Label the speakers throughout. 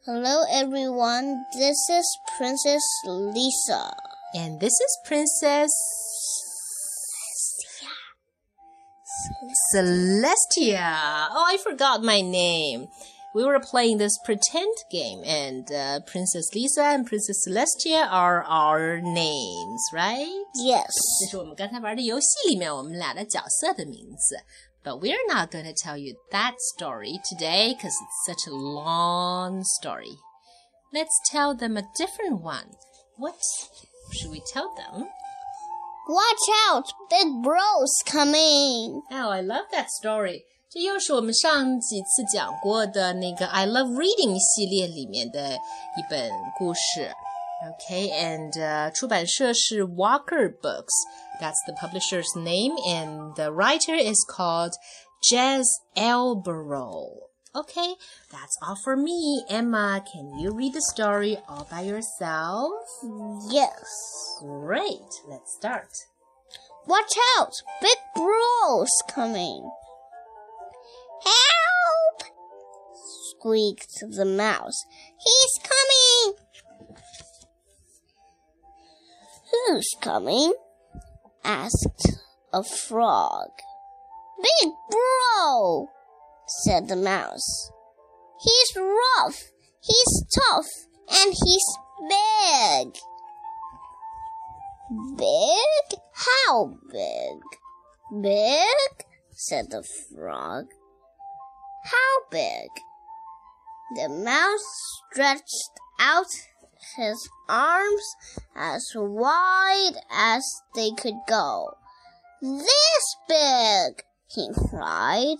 Speaker 1: Hello everyone, this is Princess Lisa.
Speaker 2: And this is Princess Celestia. Oh, I forgot my name. We were playing this pretend game, and Princess Lisa and Princess Celestia are our names, right?
Speaker 1: Yes.
Speaker 2: 这是我们刚才玩的游戏里面我们俩的角色的名字。But we're not going to tell you that story today because it's such a long story. Let's tell them a different one. What should we tell them?
Speaker 1: Watch out, big bro's coming.
Speaker 2: Oh, I love that story. 这又是我们上几次讲过的那个 I Love Reading 系列里面的一本故事。Okay, and 出版社是 Walker Books. That's the publisher's name, and the writer is called Jez Elborough. Okay, that's all for me. Emma, can you read the story all by yourself?
Speaker 1: Yes.
Speaker 2: Great, let's start.
Speaker 1: Watch out, big bro's coming. Help! Squeaked the mouse. He's coming! Who's coming? Asked a frog. Big bro, said the mouse. He's rough, he's tough, and he's big. Big? How big? Big? Said the frog. How big? The mouse stretched out his arms as wide as they could go. This big, he cried,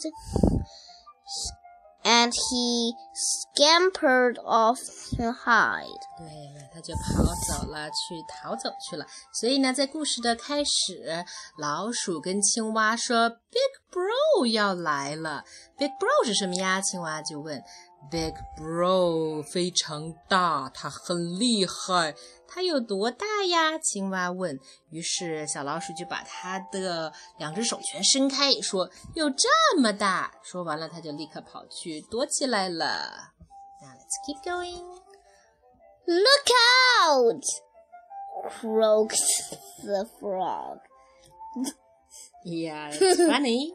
Speaker 1: and he scampered off to hide.
Speaker 2: 对了，他就跑走了，逃走去了。所以呢，在故事的开始，老鼠跟青蛙说 Big Bro 要来了。Big Bro 是什么呀？青蛙就问。Big Bro 非常大，他很厉害。他有多大呀？青蛙问。于是小老鼠就把他的两只手全伸开，说有这么大。说完了，他就立刻跑去躲起来了。Now let's keep going.
Speaker 1: Look out! Croaked the frog.
Speaker 2: Yeah, it's funny.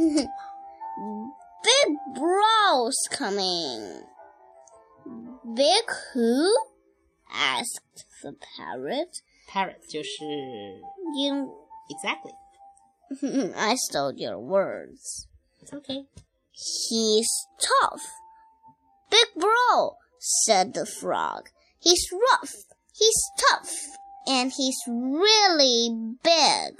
Speaker 1: Big bro's coming. Big who? Asked the parrot.
Speaker 2: Parrot 就是
Speaker 1: You,
Speaker 2: exactly.
Speaker 1: I stole your words.
Speaker 2: It's okay.
Speaker 1: He's tough. Big bro, said the frog. He's rough, he's tough, and he's really big.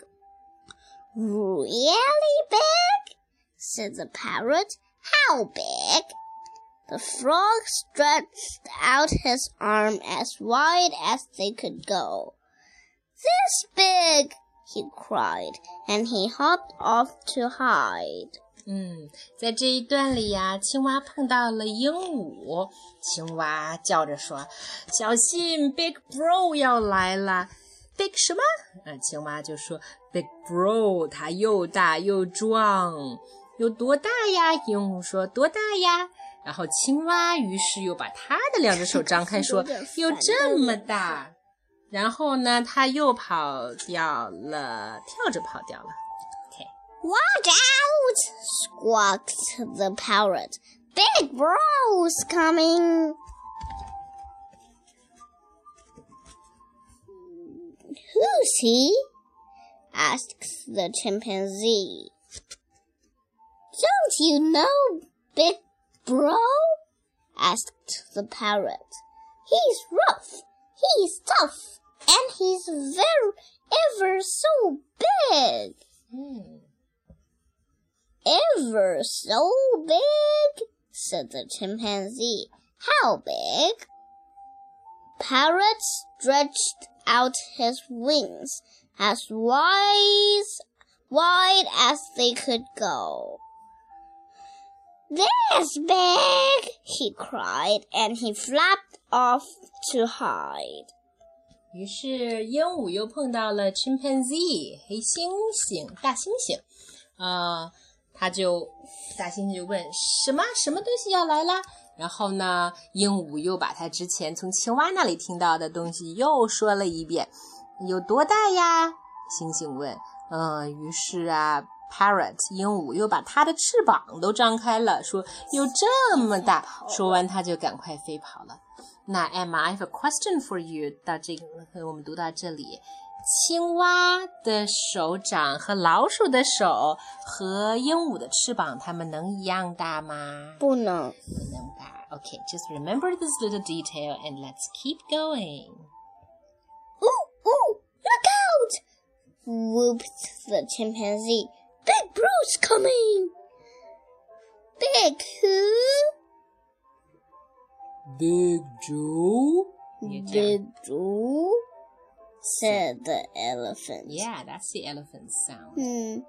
Speaker 1: Really big? Said the parrot. How big? The frog stretched out his arm as wide as they could go. This big, he cried, and he hopped off to hide.
Speaker 2: 在这一段里呀，青蛙碰到了鹦鹉，青蛙叫着说小心 Big Bro 要来了。Big 什么？青蛙就说 Big Bro 他又大又壮。有多大呀？鹦鹉说多大呀？然后青蛙于是又把他的两只手张开说有这么大。然后呢，他又跑掉了，跳着跑掉了。
Speaker 1: Watch out! Squawked the parrot. Big bro's coming. Who's he? Asked the chimpanzee. Don't you know Big Bro? Asked the parrot. He's rough, he's tough, and he's ever so big. Ever so big? Said the chimpanzee. How big? Parrot stretched out his wings as wide as they could go. This big, he cried, and he flapped off to hide.
Speaker 2: 于是鹦鹉又碰到了 chimpanzee 黑猩猩大猩猩，大猩猩就问什么东西要来啦？ 然后呢，鹦鹉又把它之前从青蛙那里听到的东西又说了一遍。有多大呀？猩猩问。于是啊 Parrot 鹦鹉又把它的翅膀都张开了，说有这么大。说完它就赶快飞跑了。那 Emma, I have a question for you. 到这个我们读到这里，青蛙的手掌和老鼠的手和鹦鹉的翅膀，它们能一样大吗？
Speaker 1: 不能。
Speaker 2: 不能吧。Okay, just remember this little detail and let's keep going.
Speaker 1: Ooh, look out! Whooped the chimpanzee. Big Bruce coming! Big who?
Speaker 2: Big Joe?
Speaker 1: Big Joe? Said the elephant.
Speaker 2: Yeah, that's the elephant sound.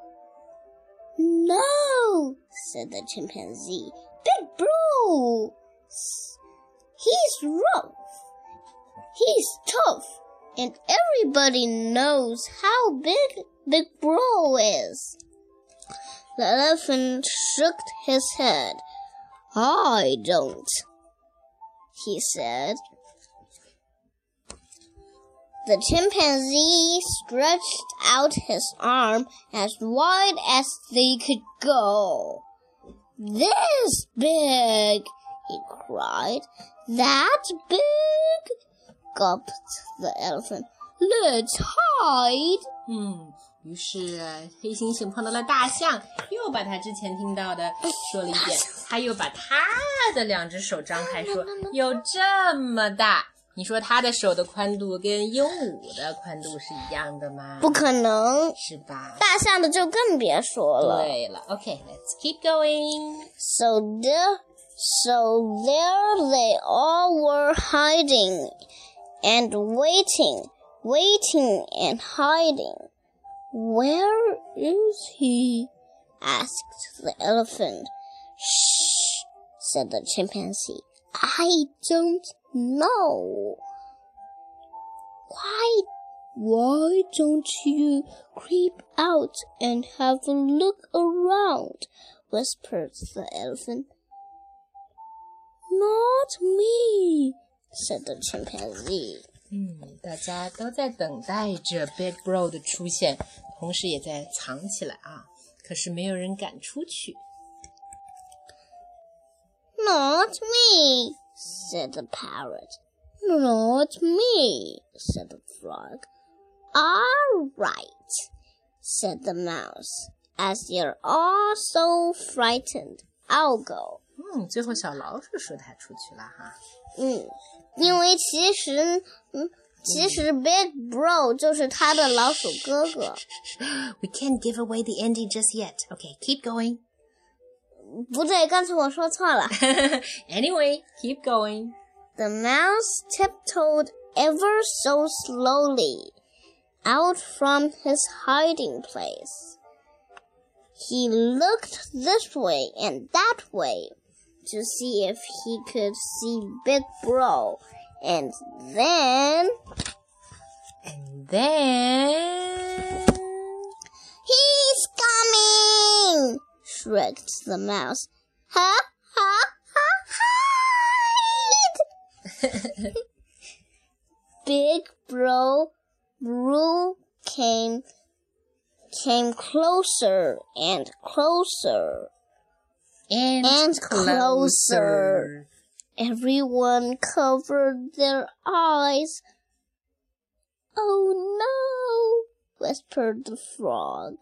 Speaker 1: No, said the chimpanzee. Big Bro! He's rough. He's tough. And everybody knows how big Big Bro is. The elephant shook his head. I don't, he said. The chimpanzee stretched out his arm as wide as they could go. This big, he cried. That big, gulped the elephant. Let's hide.
Speaker 2: 于是黑猩猩碰到了大象，又把他之前听到的说了一遍。他又把他的两只手张开说，有这么大。你说他的手的宽度跟鹦鹉的宽度是一样的吗？
Speaker 1: 不可能，
Speaker 2: 是吧？
Speaker 1: 大象的就更别说了。
Speaker 2: 对了 Okay, let's keep going.
Speaker 1: So there they all were hiding and waiting and hiding. Where is he? Asked the elephant. Shh, said the chimpanzee. I don't know. Why don't you creep out and have a look around? Whispered the elephant. Not me, said the chimpanzee.
Speaker 2: 大家都在等待着 Big Bro 的出现，同时也在藏起来啊。可是没有人敢出去。
Speaker 1: Not me, said the parrot. Not me, said the frog. All right, said the mouse. As you're all so frightened, I'll go.
Speaker 2: 最后小老鼠说它出去了哈。
Speaker 1: 因为其实 Big Bro 就是他的老鼠哥哥。
Speaker 2: We can't give away the ending just yet. Okay, keep going.
Speaker 1: 不对，刚才我说错了。
Speaker 2: Anyway, keep going.
Speaker 1: The mouse tiptoed ever so slowly out from his hiding place. He looked this way and that way to see if he could see Big Bro. And then... He's coming! Shrieked the mouse. Ha, ha, ha, hide! Big Bro came closer and closer. And closer. Everyone covered their eyes. Oh no, whispered the frog.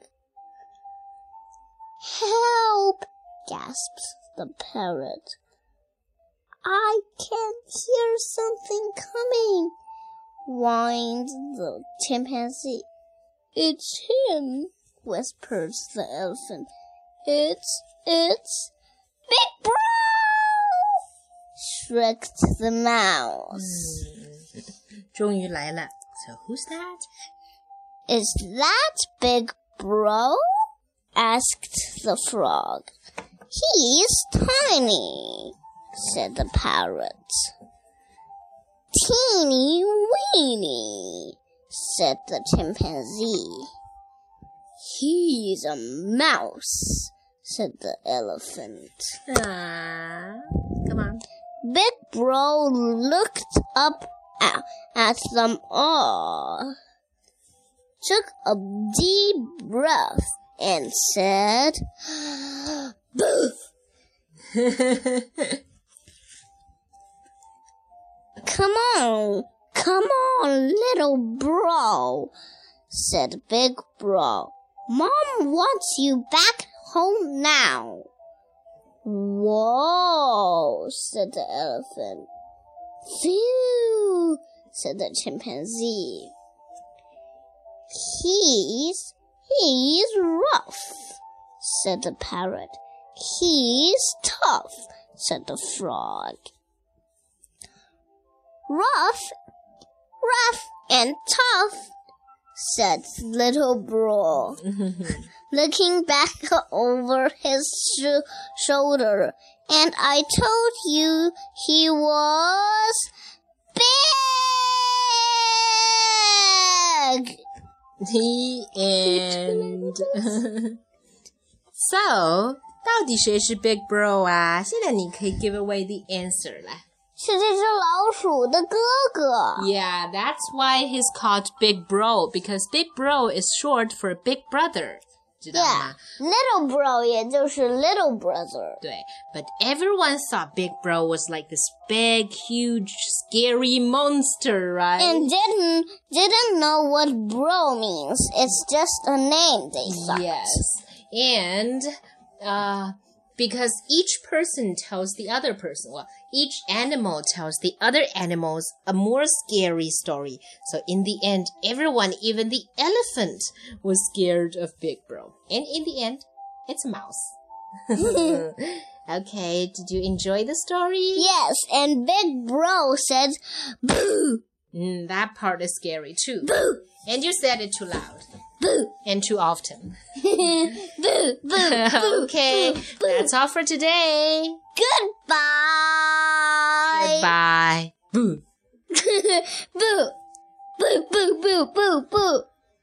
Speaker 1: Help, gasped the parrot. I can hear something coming, whined the chimpanzee. It's him, whispered the elephant. It's Big Bro! Shrieked the mouse.
Speaker 2: 终于来了。So who's that?
Speaker 1: Is that Big Bro? Asked the frog. He's tiny, said the parrot. Teeny weeny, said the chimpanzee. He's a mouse, said the elephant.
Speaker 2: Come on.
Speaker 1: Big Bro looked up at them all, took a deep breath, and said, "Boo!" Come on, little bro, said Big Bro. Mom wants you back home now. Whoa, said the elephant. Phew, said the chimpanzee. He's rough, said the parrot. He's tough, said the frog. Rough and tough, said little bro, looking back over his shoulder. And I told you he was big.
Speaker 2: The end. So, 到底谁是 Big Bro 啊？现在你可以 give away the answer 来。
Speaker 1: 是这只老鼠的哥哥。
Speaker 2: Yeah, that's why he's called Big Bro, because Big Bro is short for Big Brother. 知道吗？
Speaker 1: Yeah, little bro 也就是 little brother.
Speaker 2: 对 but everyone thought Big Bro was like this big, huge, scary monster, right?
Speaker 1: And didn't know what bro means. It's just a name, they thought.
Speaker 2: Yes. And because each person tells the other person, well, each animal tells the other animals a more scary story. So in the end, everyone, even the elephant, was scared of Big Bro. And in the end, it's a mouse. Okay, did you enjoy the story?
Speaker 1: Yes, and Big Bro said, "Boo!"
Speaker 2: That part is scary too.
Speaker 1: Boo!
Speaker 2: And you said it too loud.
Speaker 1: Boo!
Speaker 2: And too often.
Speaker 1: Boo! Boo! Boo!
Speaker 2: Okay,
Speaker 1: boo,
Speaker 2: that's all for today.
Speaker 1: Goodbye!
Speaker 2: Goodbye. Boo.
Speaker 1: Boo! Boo! Boo! Boo! Boo! Boo!